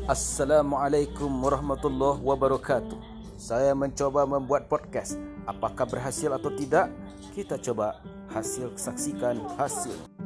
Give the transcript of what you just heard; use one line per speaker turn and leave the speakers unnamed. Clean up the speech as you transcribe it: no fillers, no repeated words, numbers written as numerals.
Assalamualaikum warahmatullahi wabarakatuh. Saya mencoba membuat podcast. Apakah berhasil atau tidak? Kita coba saksikan hasil.